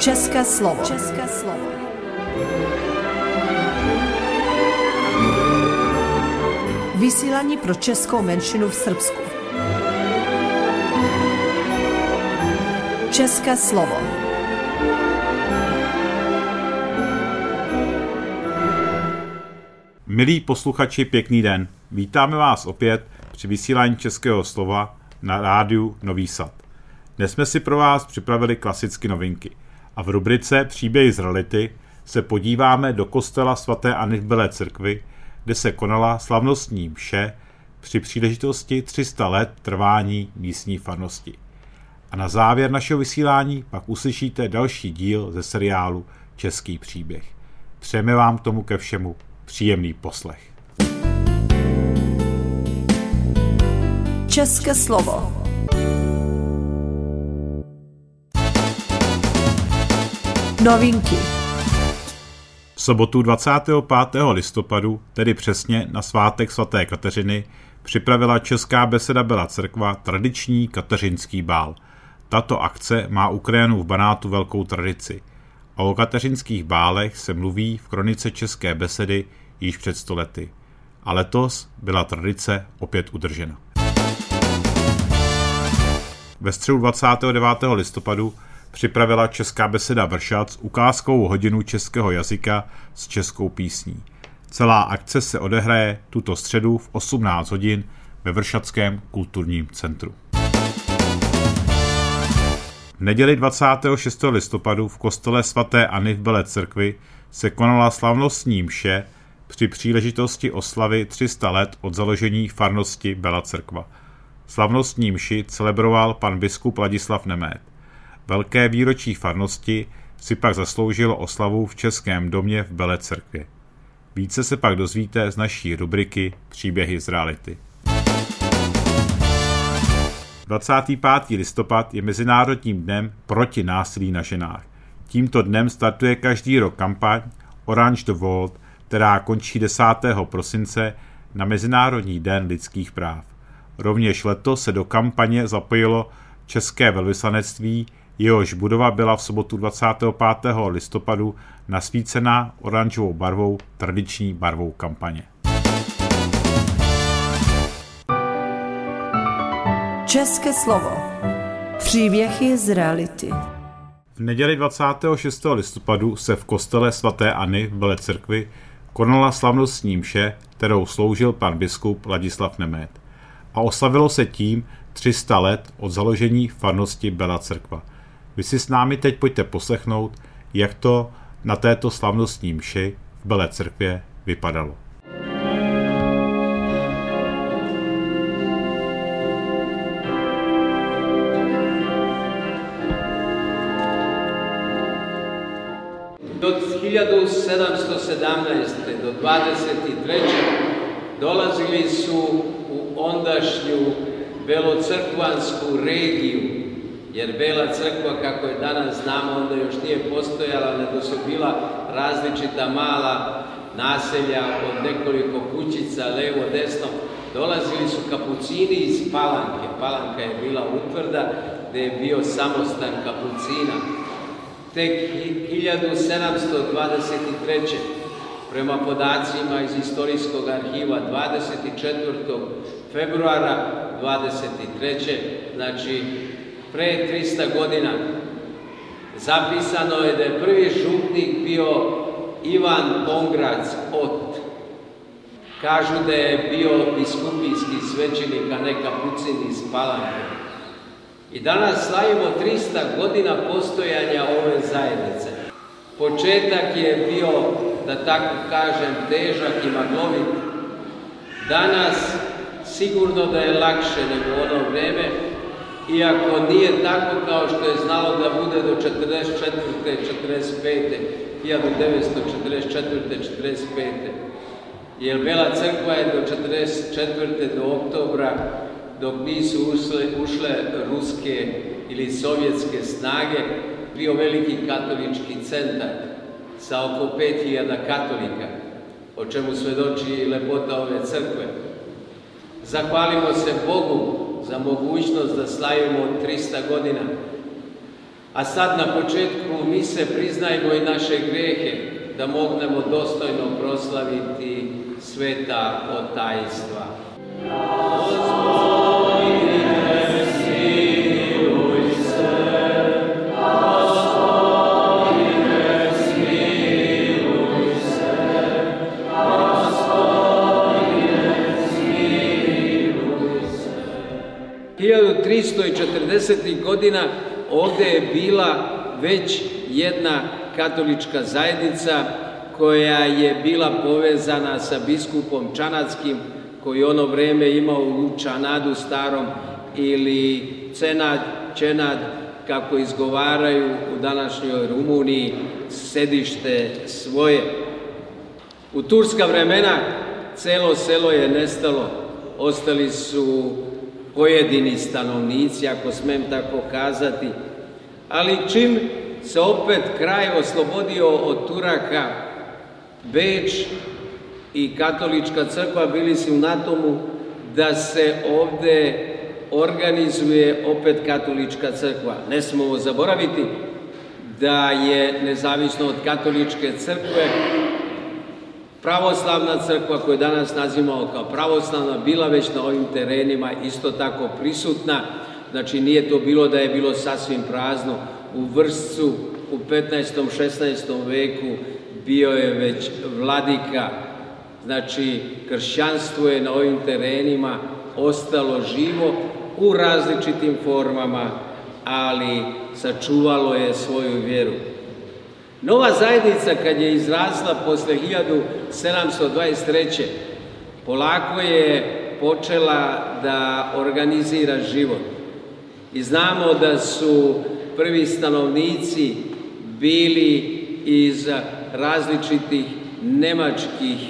České slovo. České slovo. Vysílání pro českou menšinu v Srbsku. České slovo. Milí posluchači, pěkný den. Vítáme vás opět při vysílání Českého slova na rádiu Nový Sad. Dnes jsme si pro vás připravili klasicky novinky a v rubrice Příběhy z reality se podíváme do kostela svaté Anny v Belé Církvi, kde se konala slavnostní mše při příležitosti 300 let trvání místní farnosti. A na závěr našeho vysílání pak uslyšíte další díl ze seriálu Český příběh. Přejeme vám k tomu ke všemu příjemný poslech. České slovo. Novinky. V sobotu 25. listopadu, tedy přesně na svátek svaté Kateřiny, připravila Česká beseda Belá Církva tradiční kateřinský bál. Tato akce má u krajanů v Banátu velkou tradici. A o kateřinských bálech se mluví v kronice České besedy již před 100 lety. A letos byla tradice opět udržena. Ve středu 29. listopadu připravila Česká beseda Vršac ukázkovou hodinu českého jazyka s českou písní. Celá akce se odehraje tuto středu v 18 hodin ve Vršackém kulturním centru. V neděli 26. listopadu v kostele svaté Anny v Belé Církvi se konala slavnostní mše při příležitosti oslavy 300 let od založení farnosti Belá Církva. Slavnostní mši celebroval pan biskup Ladislav Nemeth. Velké výročí farnosti si pak zasloužilo oslavu v Českém domě v Belé Církvi. Více se pak dozvíte z naší rubriky Příběhy z reality. 25. listopad je Mezinárodním dnem proti násilí na ženách. Tímto dnem startuje každý rok kampaň Orange the World, která končí 10. prosince na Mezinárodní den lidských práv. Rovněž letos se do kampaně zapojilo České velvyslanectví, jehož budova byla v sobotu 25. listopadu nasvícena oranžovou barvou, tradiční barvou kampaně. České slovo. Příběhy z reality. V neděli 26. listopadu se v kostele svaté Anny v Belé Církvi konala slavnostní mše, kterou sloužil pan biskup Ladislav Nemeth. A oslavilo se tím 300 let od založení farnosti Belá Církva. Vy si s námi teď pojďte poslechnout, jak to na této slavnostní mši v Belé Církvě vypadalo. Od 1717. do 23. dolazili su u ondašnju belocrkvansku regiju, jer Bela Crkva, kako je danas znamo, onda još nije postojala, nego su bila različita mala naselja od nekoliko kućica, levo, desno. Dolazili su kapucini iz Palanke. Palanka je bila utvrda gdje je bio samostan kapucina. Tek 1723. prema podacima iz istorijskog arhiva 24. februara 23. znači pre 300 godina zapisano je da je prvi župnik bio Ivan Pongrac Ot. Kažu da je bio biskupijski svećenik, a ne kapucin iz Palanke. I danas slavimo 300 godina postojanja ove zajednice. Početak je bio, da tako kažem, težak i maglovit. Danas sigurno da je lakše nego u ono vreme, iako nije tako kao što je znalo da bude do 44. 45. 1944. 45. Jer Bela Crkva je do 44. do oktobra, dok nisu ušle ruske ili sovjetske snage, bio veliki katolički centar sa oko 5000 katolika, o čemu svedoči i lepota ove crkve. Zahvalimo se Bogu za mogućnost da slavimo 300 godina, A sad na početku mi se priznajmo i naše grehe, da mognemo dostojno proslaviti sveta otajstva. Gospodine, smiluj se, Gospodine, smiluj se, Gospodine, smiluj se. 1340. godina ovdje je bila već jedna katolička zajednica koja je bila povezana sa biskupom Čanadskim, koji ono vreme imao u Čanadu starom ili Čenad, kako izgovaraju u današnjoj Rumuniji, sedište svoje. U turska vremena celo selo je nestalo, ostali su pojedini stanovnici, ako smem tako kazati, ali čim se opet kraj oslobodio od Turaka, Beč i katolička crkva bili su na tomu da se ovde organizuje opet katolička crkva. Ne smemo zaboraviti da je nezavisno od katoličke crkve pravoslavna crkva, koju danas nazivamo kao pravoslavna, bila već na ovim terenima isto tako prisutna. Znači nije to bilo da je bilo sasvim prazno. U Vršcu u 15. 16. veku bio je već vladika. Znači kršćanstvo je na ovim terenima ostalo živo u različitim formama, ali sačuvalo je svoju vjeru. Nova zajednica kad je izrasla posle 1723. polako je počela da organizira život. I znamo da su prvi stanovnici bili iz različitih nemačkih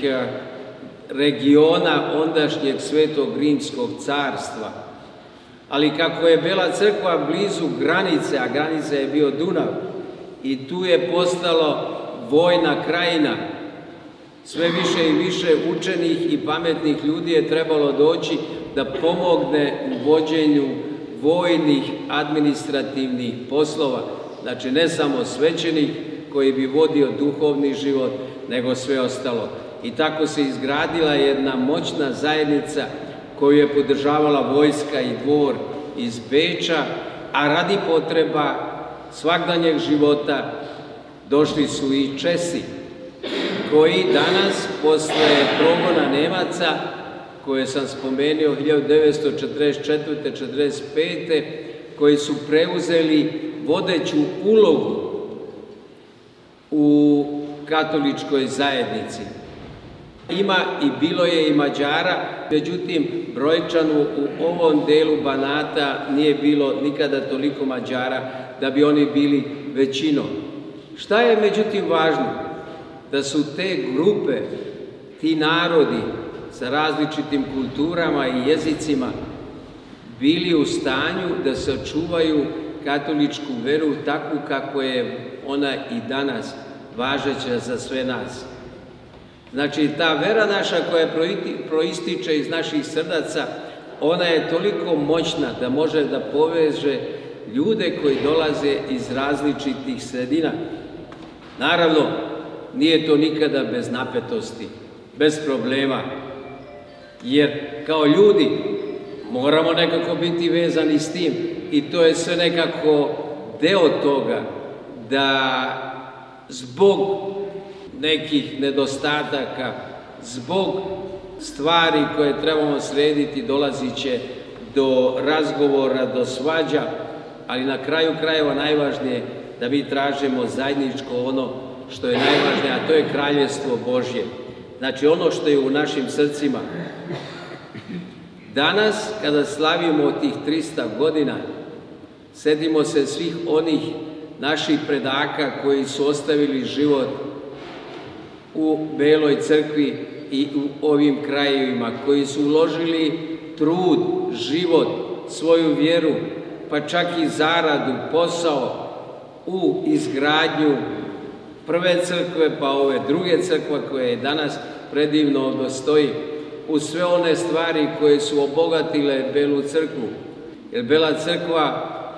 regiona ondašnjeg Svetog Rimskog carstva. Ali kako je Bela crkva blizu granice, a granica je bio Dunav, i tu je postalo vojna krajina, sve više i više učenih i pametnih ljudi je trebalo doći da pomogne u vođenju vojnih administrativnih poslova. Znači ne samo svećenik koji bi vodio duhovni život, nego sve ostalo. I tako se izgradila jedna moćna zajednica koju je podržavala vojska i dvor iz Beča, a radi potreba svakdanjeg života došli su i Česi, koji danas, posle progona Nemaca, koje sam spomenuo 1944-45. koji su preuzeli vodeću ulogu u katoličkoj zajednici. Ima i bilo je i Mađara, međutim brojčano u ovom delu Banata nije bilo nikada toliko Mađara da bi oni bili većinom. Šta je međutim važno? Da su te grupe, ti narodi sa različitim kulturama i jezicima bili u stanju da sačuvaju katoličku veru takvu kako je ona i danas važeća za sve nas. Znači, ta vera naša koja proističe iz naših srdaca, ona je toliko moćna da može da poveže ljude koji dolaze iz različitih sredina. Naravno, nije to nikada bez napetosti, bez problema, jer kao ljudi moramo nekako biti vezani s tim i to je sve nekako deo toga da zbog nekih nedostataka, zbog stvari koje trebamo srediti, dolazit će do razgovora, do svađa, ali na kraju krajeva najvažnije da mi tražimo zajedničko ono što je najvažnije, a to je Kraljevstvo Božje. Znači ono što je u našim srcima. Danas, kada slavimo tih 300 godina, sedimo se svih onih naših predaka koji su ostavili život u Beloj crkvi i u ovim krajevima, koji su uložili trud, život, svoju vjeru, pa čak i zaradu, posao u izgradnju prve crkve, pa ove druge crkve koje je danas predivno dostoji, u sve one stvari koje su obogatile Belu crkvu. Jer Bela crkva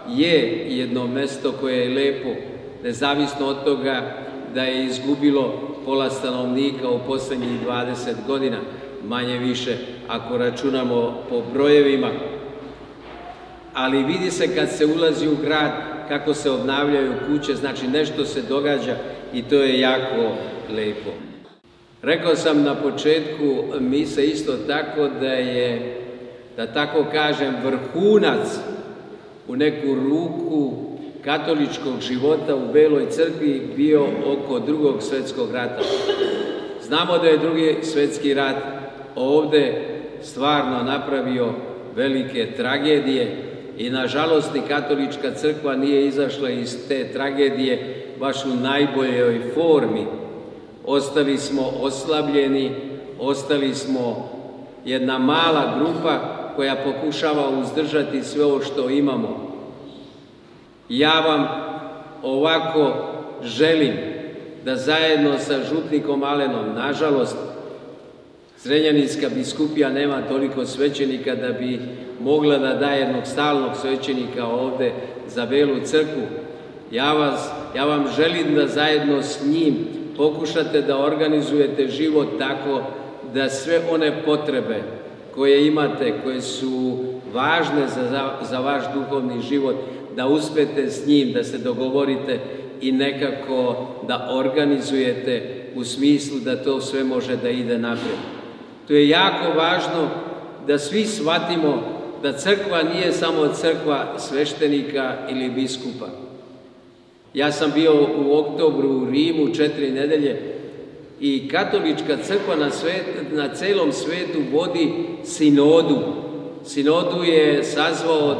je jedno mesto koje je lepo, nezavisno od toga da je izgubilo pola stanovnika u posljednjih 20 godina, manje više ako računamo po brojevima. Ali vidi se kad se ulazi u grad kako se obnavljaju kuće, znači nešto se događa i to je jako lepo. Rekao sam na početku mise isto tako da je, da tako kažem, vrhunac u neku ruku katoličkog života u Beloj crkvi bio oko Drugog svjetskog rata. Znamo da je Drugi svjetski rat ovdje stvarno napravio velike tragedije i nažalost i katolička crkva nije izašla iz te tragedije baš u najboljoj formi. Ostali smo oslabljeni, ostali smo jedna mala grupa koja pokušava uzdržati sve ovo što imamo. Ja vam ovako želim da zajedno sa župnikom Alenom, nažalost, Zrenjaninska biskupija nema toliko svećenika da bi mogla da daje jednog stalnog svećenika ovdje za Belu crkvu. Ja vam želim da zajedno s njim pokušate da organizujete život tako da sve one potrebe koje imate, koje su važne za vaš duhovni život, da uspete s njim, da se dogovorite i nekako da organizujete u smislu da to sve može da ide naprijed. To je jako važno da svi shvatimo da crkva nije samo crkva sveštenika ili biskupa. Ja sam bio u oktobru u Rimu 4 nedelje i katolička crkva na celom svetu vodi sinodu. Sinodu je sazvao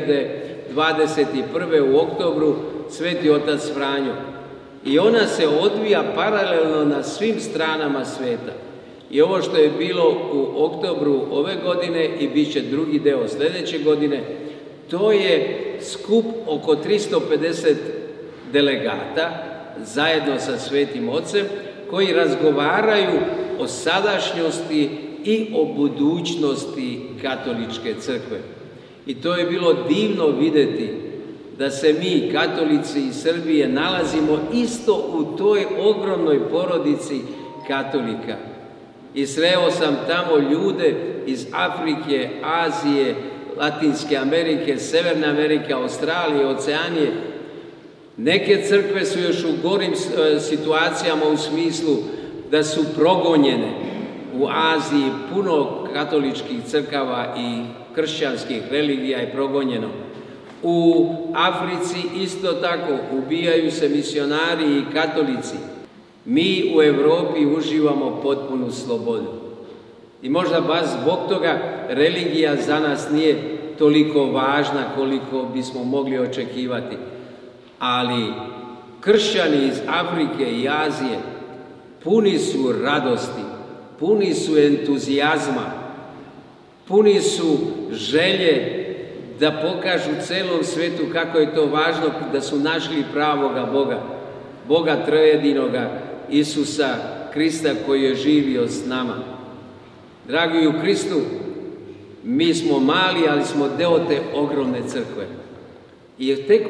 2021. u oktobru Sveti otac Franjo. I ona se odvija paralelno na svim stranama sveta. I ovo što je bilo u oktobru ove godine i bit će drugi deo sljedeće godine, to je skup oko 350 delegata zajedno sa Svetim Ocem koji razgovaraju o sadašnjosti i o budućnosti katoličke crkve. I to je bilo divno vidjeti da se mi, katolici iz Srbije, nalazimo isto u toj ogromnoj porodici katolika. I sreo sam tamo ljude iz Afrike, Azije, Latinske Amerike, Severne Amerike, Australije, Oceanije. Neke crkve su još u gorim situacijama u smislu da su progonjene. U Aziji puno katoličkih crkava i kršćanskih religija je progonjeno. U Africi isto tako ubijaju se misionari i katolici. Mi u Europi uživamo potpunu slobodu. I možda baš zbog toga religija za nas nije toliko važna koliko bismo mogli očekivati. Ali kršćani iz Afrike i Azije puni su radosti, puni su entuzijazma, puni su želje da pokažu celom svetu kako je to važno da su našli pravoga Boga, Boga trojedinoga, Isusa Krista koji je živio s nama. Dragi u Kristu, mi smo mali, ali smo deo te ogromne crkve. I tek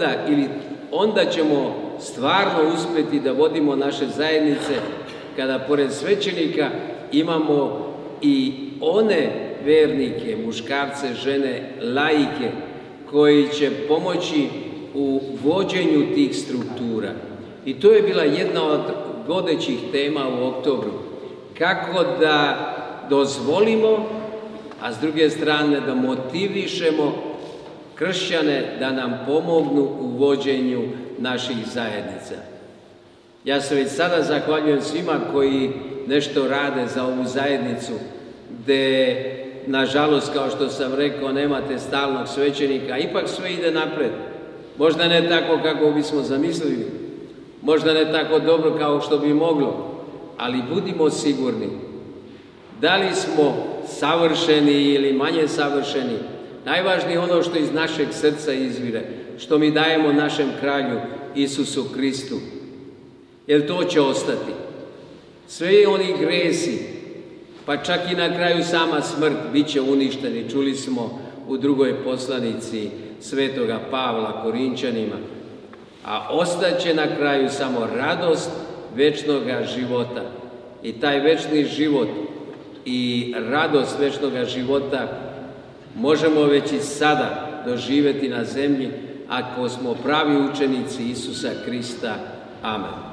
onda ćemo stvarno uspjeti da vodimo naše zajednice kada pored svećenika imamo i one vernike, muškarce, žene, laike koji će pomoći u vođenju tih struktura. I to je bila jedna od vodećih tema u oktobru. Kako da dozvolimo, a s druge strane da motivišemo kršćane da nam pomognu u vođenju naših zajednica. Ja se već sada zahvaljujem svima koji nešto rade za ovu zajednicu, gde, nažalost, kao što sam rekao, nemate stalnog svećenika, ipak sve ide napred. Možda ne tako kako bismo zamislili, možda ne tako dobro kao što bi moglo, ali budimo sigurni, da li smo savršeni ili manje savršeni, najvažnije je ono što iz našeg srca izvire, što mi dajemo našem kralju Isusu Kristu, jer to će ostati. Sve oni gresi, pa čak i na kraju sama smrt, bit će uništeni. Čuli smo u drugoj poslanici Svetoga Pavla Korinčanima, a ostaće na kraju samo radost večnoga života. I taj večni život i radost večnoga života možemo već i sada doživjeti na zemlji ako smo pravi učenici Isusa Krista. Amen.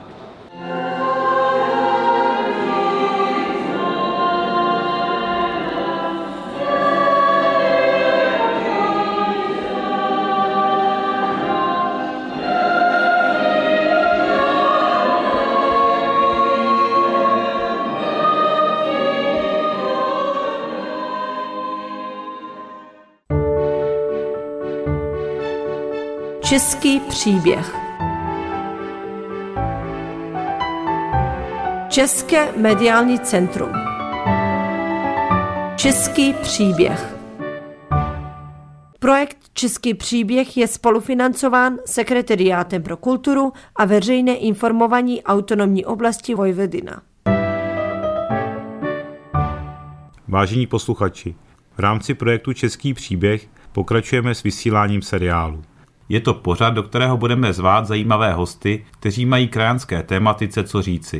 Český příběh. České mediální centrum. Český příběh. Projekt Český příběh je spolufinancován Sekretariátem pro kulturu a veřejné informování autonomní oblasti Vojvodina. Vážení posluchači, v rámci projektu Český příběh pokračujeme s vysíláním seriálu. Je to pořad, do kterého budeme zvát zajímavé hosty, kteří mají krajanské tématice co říci.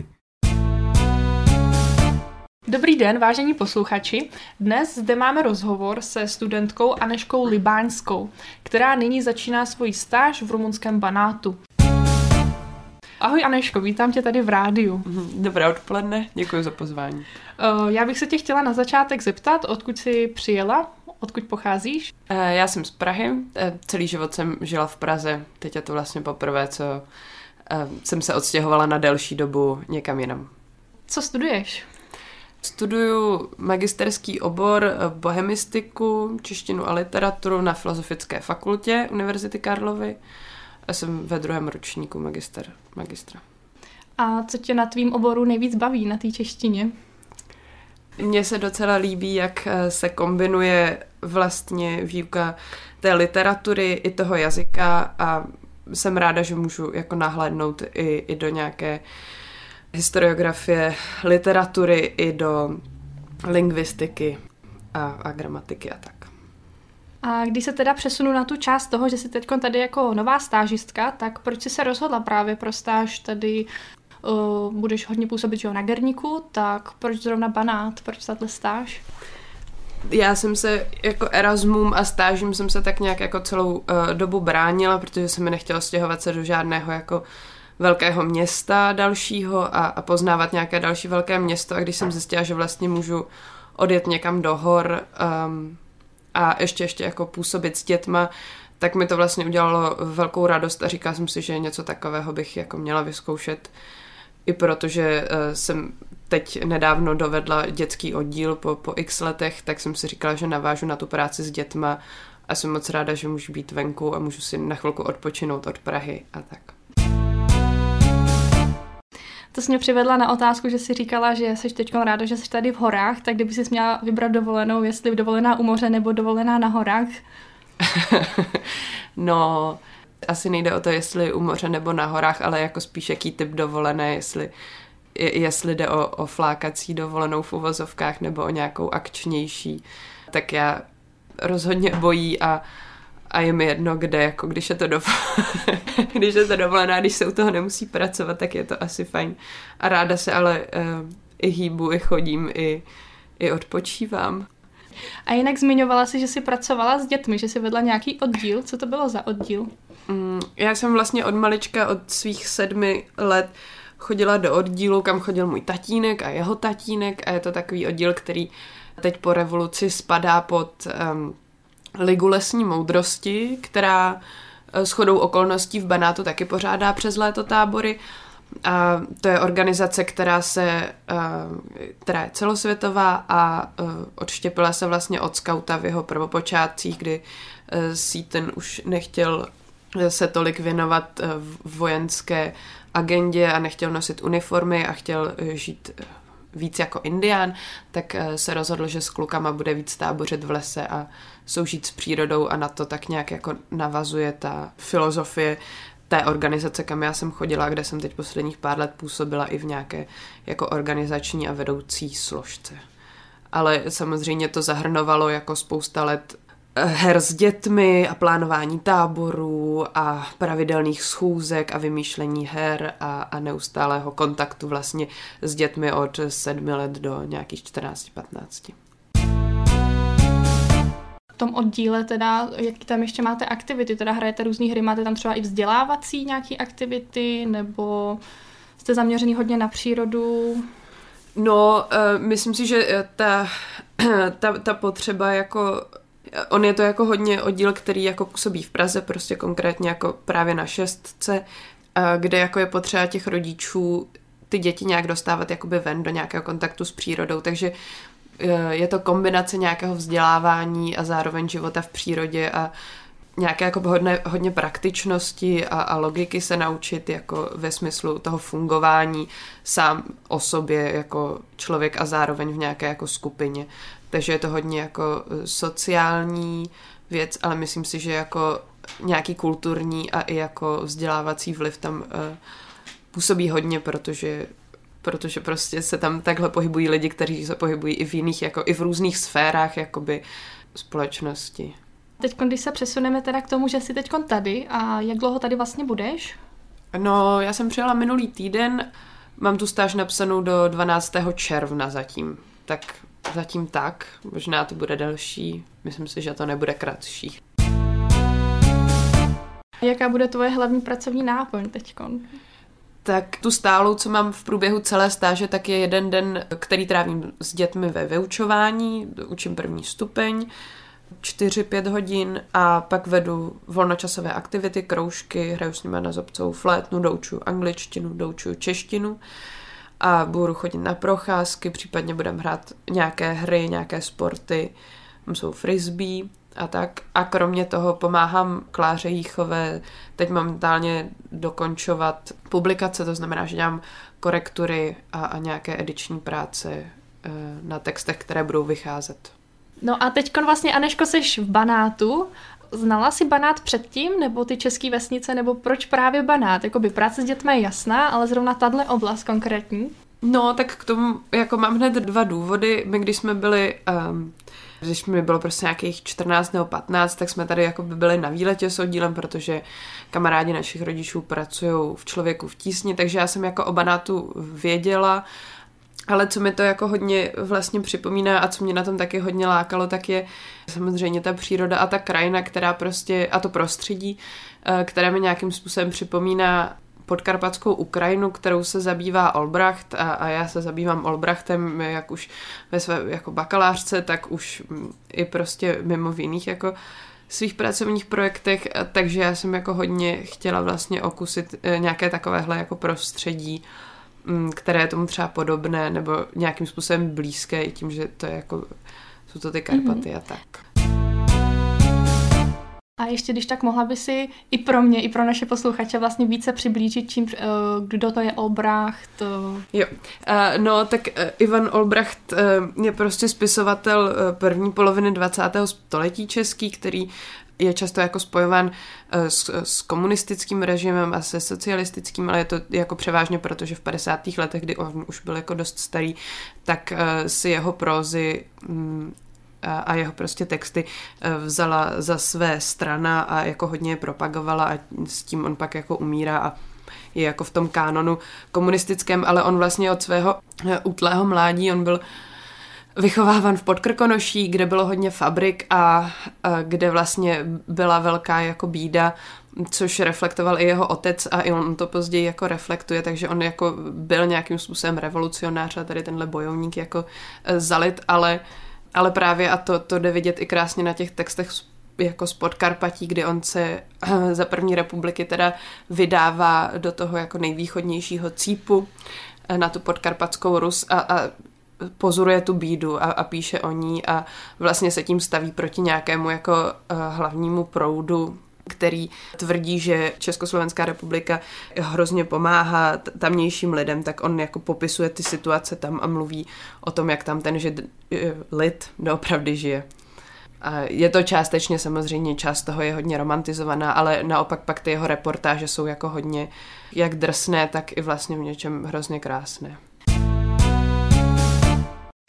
Dobrý den, vážení posluchači. Dnes zde máme rozhovor se studentkou Anežkou Libáňskou, která nyní začíná svoji stáž v rumunském Banátu. Ahoj Anežko, vítám tě tady v rádiu. Dobré odpoledne, děkuji za pozvání. Já bych se tě chtěla na začátek zeptat, odkud jsi přijela, odkud pocházíš? Já jsem z Prahy, celý život jsem žila v Praze, teď je to vlastně poprvé, co jsem se odstěhovala na delší dobu někam jinam. Co studuješ? Studuju magisterský obor bohemistiku, češtinu a literaturu na Filozofické fakultě Univerzity Karlovy. A jsem ve 2. ročníku magistra. A co tě na tvým oboru nejvíc baví na té češtině? Mně se docela líbí, jak se kombinuje vlastně výuka té literatury i toho jazyka a jsem ráda, že můžu jako nahlédnout i do nějaké historiografie, literatury, i do lingvistiky a gramatiky a tak. A když se teda přesunu na tu část toho, že jsi teď tady jako nová stážistka, tak proč jsi se rozhodla právě pro stáž tady? Budeš hodně působit na Gerníku, tak proč zrovna Banát, proč tato stáž? Já jsem se jako Erasmum a stážím jsem se tak nějak jako celou dobu bránila, protože jsem mi nechtěla stěhovat se do žádného jako velkého města dalšího a poznávat nějaké další velké město, a když jsem zjistila, že vlastně můžu odjet někam do hor a ještě jako působit s dětma, tak mi to vlastně udělalo velkou radost a říkala jsem si, že něco takového bych jako měla vyzkoušet. I protože jsem teď nedávno dovedla dětský oddíl po x letech, tak jsem si říkala, že navážu na tu práci s dětma a jsem moc ráda, že můžu být venku a můžu si na chvilku odpočinout od Prahy a tak. To jsi mě přivedla na otázku, že jsi říkala, že jsi teď ráda, že jsi tady v horách, tak kdyby jsi měla vybrat dovolenou, jestli dovolená u moře nebo dovolená na horách? No, asi nejde o to, jestli u moře nebo na horách, ale jako spíš jaký typ dovolené, jestli jde o flákací dovolenou v uvozovkách nebo o nějakou akčnější. Tak já rozhodně bojí a je mi jedno, kde, jako když je to když je to dovolená, když se u toho nemusí pracovat, tak je to asi fajn. A ráda se ale i hýbu, i chodím, i odpočívám. A jinak zmiňovala si, že jsi pracovala s dětmi, že jsi vedla nějaký oddíl. Co to bylo za oddíl? Já jsem vlastně od malička, od svých 7 let chodila do oddílu, kam chodil můj tatínek a jeho tatínek, a je to takový oddíl, který teď po revoluci spadá pod Ligu lesní moudrosti, která shodou okolností v Banátu taky pořádá přes léto tábory. A to je organizace, která je celosvětová a odštěpila se vlastně od skauta v jeho prvopočátcích, kdy Seaton už nechtěl se tolik věnovat vojenské agendě a nechtěl nosit uniformy a chtěl žít víc jako indián, tak se rozhodl, že s klukama bude víc tábořit v lese a soužít s přírodou, a na to tak nějak jako navazuje ta filozofie té organizace, kam já jsem chodila, kde jsem teď posledních pár let působila i v nějaké jako organizační a vedoucí složce. Ale samozřejmě to zahrnovalo jako spousta let her s dětmi a plánování táborů a pravidelných schůzek a vymýšlení her a neustálého kontaktu vlastně s dětmi od 7 let do nějakých 14-15. V tom oddíle teda, jaký tam ještě máte aktivity, teda hrajete různý hry, máte tam třeba i vzdělávací nějaký aktivity, nebo jste zaměřený hodně na přírodu? No, myslím si, že ta potřeba jako... On je to jako hodně oddíl, který jako působí v Praze, prostě konkrétně jako právě na 6, kde jako je potřeba těch rodičů ty děti nějak dostávat jakoby ven do nějakého kontaktu s přírodou, takže je to kombinace nějakého vzdělávání a zároveň života v přírodě a nějaké jako hodně praktičnosti a logiky se naučit jako ve smyslu toho fungování sám o sobě jako člověk a zároveň v nějaké jako skupině. Takže je to hodně jako sociální věc, ale myslím si, že jako nějaký kulturní a i jako vzdělávací vliv tam působí hodně, protože prostě se tam takhle pohybují lidi, kteří se pohybují i v jiných, jako i v různých sférách jakoby společnosti. Teď, když se přesuneme teda k tomu, že jsi teď tady a jak dlouho tady vlastně budeš? No, já jsem přijela minulý týden, mám tu stáž napsanou do 12. června zatím, tak, možná to bude delší, myslím si, že to nebude kratší. Jaká bude tvoje hlavní pracovní náplň teďkon? Tak tu stálou, co mám v průběhu celé stáže, tak je jeden den, který trávím s dětmi ve vyučování, učím 1. stupeň, 4-5 hodin a pak vedu volnočasové aktivity, kroužky, hraju s nimi na zobcovou flétnu, doučuju angličtinu, doučuju češtinu a budu chodit na procházky, případně budeme hrát nějaké hry, nějaké sporty, tam jsou frisbee a tak. A kromě toho pomáhám Kláře Jíchové teď momentálně dokončovat publikace, to znamená, že dělám korektury a nějaké ediční práce na textech, které budou vycházet. No a teďkon vlastně, Anežko, seš v Banátu. Znala jsi Banát předtím, nebo ty české vesnice, nebo proč právě Banát? Jakoby práce s dětmi je jasná, ale zrovna tahle oblast konkrétní? No, tak k tomu jako mám hned 2 důvody. My když jsme byli, když mi bylo prostě nějakých 14 nebo 15, tak jsme tady jako by byli na výletě s oddílem, protože kamarádi našich rodičů pracují v Člověku v tísni, takže já jsem jako o Banátu věděla. Ale co mi to jako hodně vlastně připomíná a co mě na tom taky hodně lákalo, tak je samozřejmě ta příroda a ta krajina, která prostě, a to prostředí, které mi nějakým způsobem připomíná podkarpatskou Ukrajinu, kterou se zabývá Olbracht a já se zabývám Olbrachtem jak už ve své jako bakalářce, tak už i prostě mimo v jiných jako svých pracovních projektech, takže já jsem jako hodně chtěla vlastně okusit nějaké takovéhle jako prostředí, které je tomu třeba podobné nebo nějakým způsobem blízké i tím, že to je jako, jsou to ty Karpaty a tak. A ještě když tak mohla by si i pro mě, i pro naše posluchače vlastně více přiblížit, kdo to je Olbracht? Jo, no tak Ivan Olbracht je prostě spisovatel první poloviny 20. století český, který je často jako spojován s komunistickým režimem a se socialistickým, ale je to jako převážně, protože v 50. letech, kdy on už byl jako dost starý, tak si jeho prózy a jeho prostě texty vzala za své strana a jako hodně je propagovala a s tím on pak jako umírá a je jako v tom kánonu komunistickém, ale on vlastně od svého útlého mládí, on byl vychováván v Podkrkonoší, kde bylo hodně fabrik a kde vlastně byla velká jako bída, což reflektoval i jeho otec a i on to později jako reflektuje, takže on jako byl nějakým způsobem revolucionář a tady tenhle bojovník jako zalit, ale právě a to jde vidět i krásně na těch textech jako z Podkarpatí, kdy on se za první republiky teda vydává do toho jako nejvýchodnějšího cípu na tu podkarpatskou Rus a pozoruje tu bídu a píše o ní a vlastně se tím staví proti nějakému jako hlavnímu proudu, který tvrdí, že Československá republika hrozně pomáhá tamnějším lidem, tak on jako popisuje ty situace tam a mluví o tom, jak tam ten lid doopravdy žije. A je to částečně samozřejmě, část toho je hodně romantizovaná, ale naopak pak ty jeho reportáže jsou jako hodně jak drsné, tak i vlastně v něčem hrozně krásné.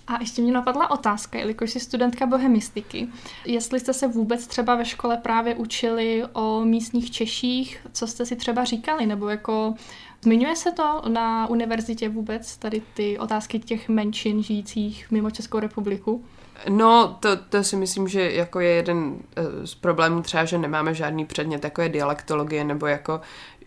A ještě mě napadla otázka, jelikož jsi studentka bohemistiky, jestli jste se vůbec třeba ve škole právě učili o místních Češích, co jste si třeba říkali, nebo jako zmiňuje se to na univerzitě vůbec, tady ty otázky těch menšin žijících mimo Českou republiku? No, to si myslím, že jako je jeden z problémů třeba, že nemáme žádný předmět, jako je dialektologie, nebo jako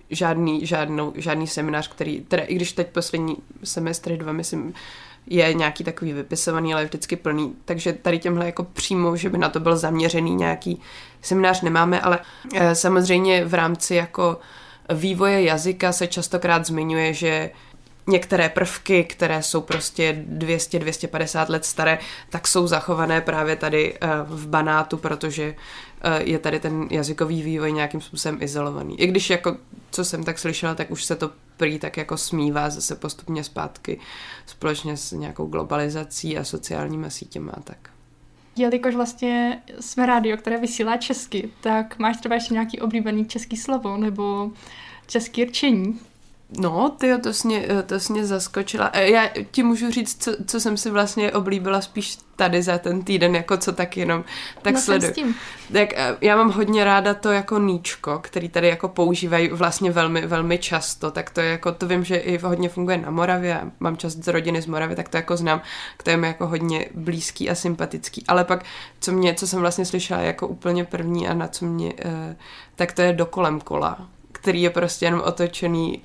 žádný seminář, který, teda i když teď poslední semestry 2, myslím, je nějaký takový vypisovaný, ale je vždycky plný, takže tady těmhle jako přímo, že by na to byl zaměřený nějaký seminář nemáme, ale samozřejmě v rámci jako vývoje jazyka se častokrát zmiňuje, že některé prvky, které jsou prostě 200-250 let staré, tak jsou zachované právě tady v Banátu, protože je tady ten jazykový vývoj nějakým způsobem izolovaný. I když jako, co jsem tak slyšela, tak už se to prý tak jako smívá zase postupně zpátky společně s nějakou globalizací a sociálními sítěma a tak. Jelikož vlastně jsme rádio, které vysílá česky, tak máš třeba ještě nějaký oblíbený český slovo nebo český rčení? No, to jsi mě zaskočila. Já ti můžu říct, co jsem si vlastně oblíbila spíš tady za ten týden, jako co tak jenom tak sleduju. Tak já mám hodně ráda to jako níčko, který tady jako používají vlastně velmi, velmi často, tak to je jako, to vím, že i hodně funguje na Moravě, mám část z rodiny z Moravy, tak to jako znám, to je mi jako hodně blízký a sympatický. Ale pak, co jsem vlastně slyšela jako úplně první a na co mě, tak to je dokolem kola, který je prostě jenom otočený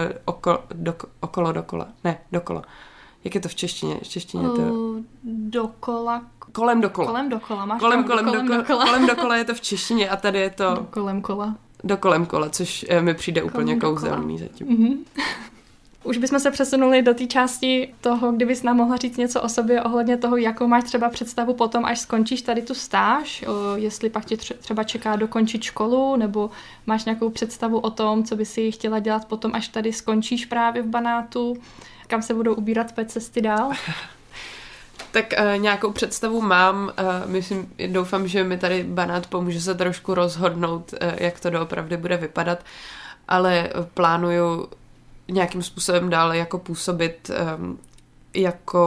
dokola. Jak je to v češtině? Dokola. Kolem dokola. Kolem dokola je to v češtině a tady je to... Dokolem kola, což mi přijde úplně kouzelný zatím. Mm-hmm. Už bychom se přesunuli do té části toho, kdybys nám mohla říct něco o sobě ohledně toho, jakou máš třeba představu potom, až skončíš tady tu stáž, jestli pak tě třeba čeká dokončit školu, nebo máš nějakou představu o tom, co by si chtěla dělat potom, až tady skončíš právě v Banátu, kam se budou ubírat tvé cesty dál? Tak nějakou představu mám, doufám, že mi tady Banát pomůže se trošku rozhodnout, jak to doopravdy bude vypadat, ale plánuju nějakým způsobem dále jako působit jako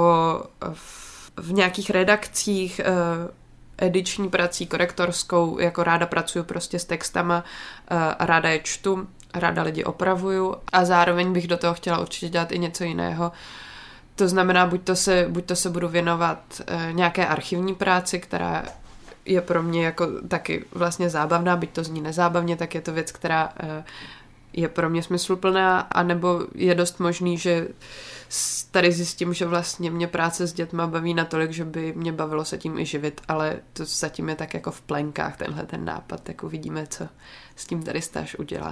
v nějakých redakcích, ediční prací, korektorskou, jako ráda pracuju prostě s textama a ráda je čtu, ráda lidi opravuju a zároveň bych do toho chtěla určitě dělat i něco jiného. To znamená, buď to se budu věnovat nějaké archivní práci, která je pro mě jako taky vlastně zábavná, byť to zní nezábavně, tak je to věc, která je pro mě smysluplná, anebo je dost možný, že tady zjistím, že vlastně mě práce s dětma baví natolik, že by mě bavilo se tím i živit, ale to zatím je tak jako v plenkách tenhle ten nápad, tak uvidíme, co s tím tady stáž udělá.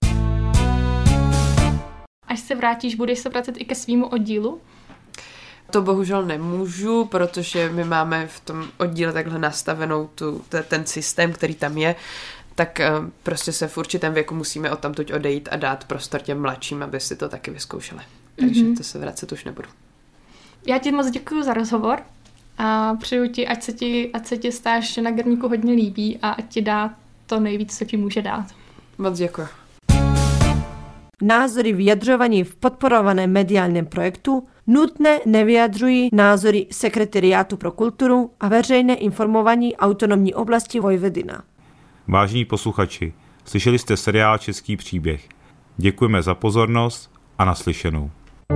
Až se vrátíš, budeš se vracet i ke svýmu oddílu? To bohužel nemůžu, protože my máme v tom oddíle takhle nastavenou ten systém, který tam je, tak prostě se v určitém věku musíme odtamtud odejít a dát prostor těm mladším, aby si to taky vyzkoušeli. Takže to se vracet už nebudu. Já ti moc děkuji za rozhovor a přeju ti, ať se ti stáž na Gerníku hodně líbí a ať ti dá to nejvíc, co ti může dát. Moc děkuji. Názory vyjadřovaní v podporovaném mediálním projektu nutně nevyjadřují názory Sekretariátu pro kulturu a veřejné informování autonomní oblasti Vojvodina. Vážení posluchači, slyšeli jste seriál Český příběh. Děkujeme za pozornost a naslyšenou.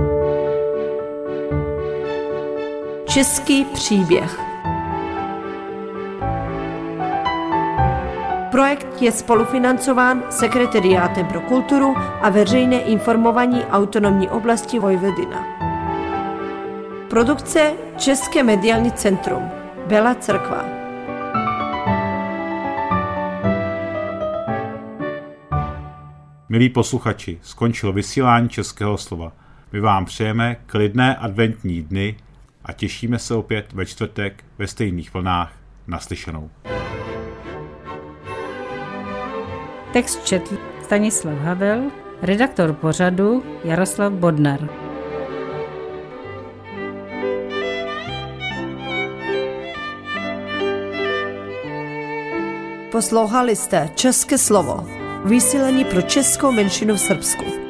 Český příběh. Projekt je spolufinancován Sekretariátem pro kulturu a veřejné informování autonomní oblasti Vojvodina. Produkce České mediální centrum Bela Crkva. Milí posluchači, skončilo vysílání Českého slova. My vám přejeme klidné adventní dny a těšíme se opět ve čtvrtek ve stejných vlnách. Naslyšenou. Text četl Stanislav Havel, redaktor pořadu Jaroslav Bodnar. Poslouchali jste České slovo, vysílání pro českou menšinu v Srbsku.